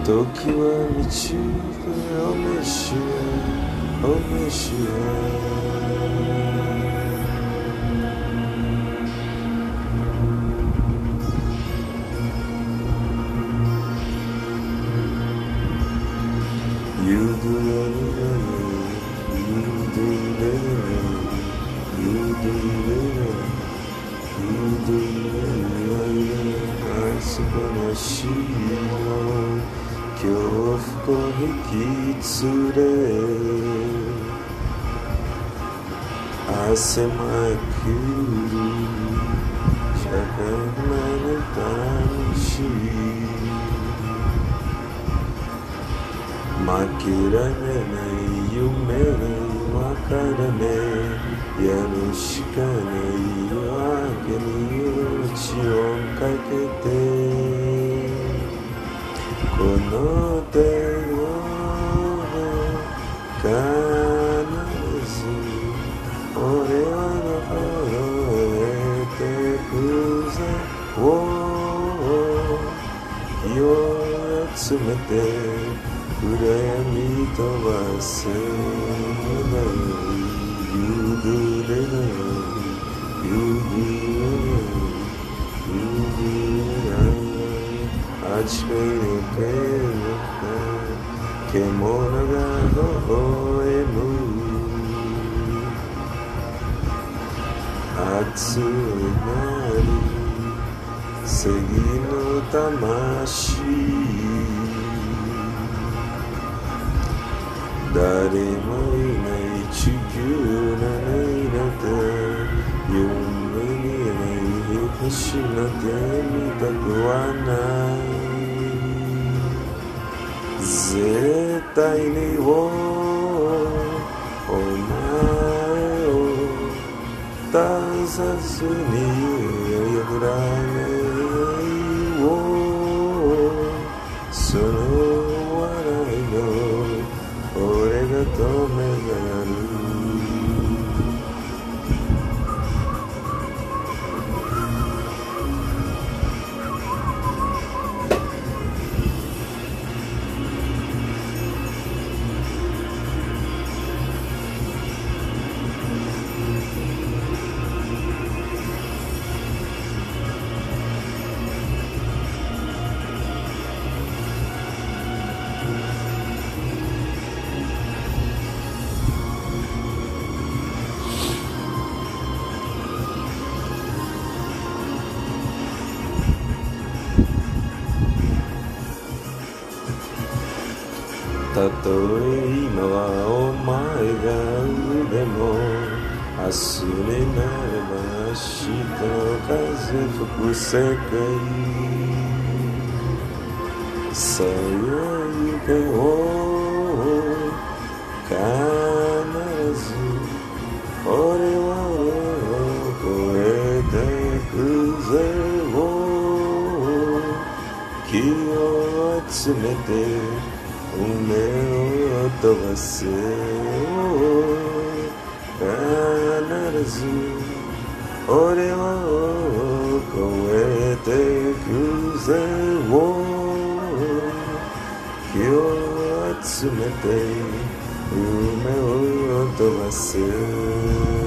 時は満ちてお召しお召しゆずれ愛すばらしいの恐怖を引き連れ汗まくる社会の魂負けられない夢にわからねえやるしかない夜明けに命をかけてこの手を必ず俺は登れてくぜ気を集めて暗闇飛ばせない夕暮れのあちこちで獣が微笑む熱いなり正義の魂誰もいない地球のないなんて夢にない星なんて見たくはない絶対にお前を出さずに破らないその笑いの俺が止めがるたとえ今はお前が腕も明日になれば明日の風吹く世界さあ行けを必ず俺を越えてくぜ気を集めて夢を飛ばせ必ず俺を越えてくぜ気を集めて夢を飛ばせ